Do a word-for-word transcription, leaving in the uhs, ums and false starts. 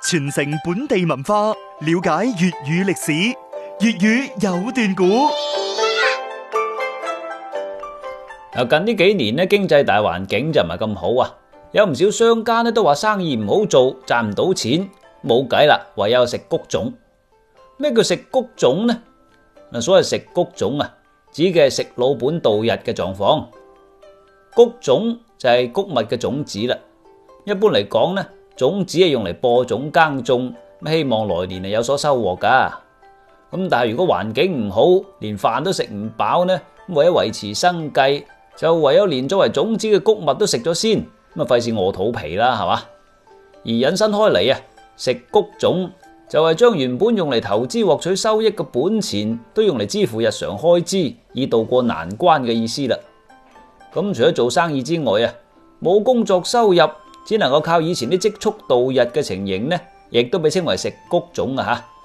傳承本地文化，了解粵語歷史。粵語有段古。 近呢幾年咧，經濟大環境就唔係咁好啊，有唔少商家咧都話生意唔好做，賺唔到錢，冇計啦，唯有食穀種。咩叫食穀種呢？嗱，所謂食穀種啊，指嘅係食老本度日嘅狀況。穀種就係穀物嘅種子啦。一般嚟講呢，種子係用嚟播種耕種，希望來年係有所收穫噶。咁但係如果環境唔好，連飯都食唔飽呢，為咗維持生計，就唯有連作為種子嘅穀物都食咗先，咁啊費事餓肚皮啦，係嘛？而引申開嚟啊，食穀種就係將原本用嚟投資獲取收益嘅本錢，都用嚟支付日常開支，以渡過難關嘅意思啦。咁除咗做生意之外啊，冇工作收入，只能夠靠以前啲積蓄度日嘅情形呢，亦都被稱為食穀種啊吓。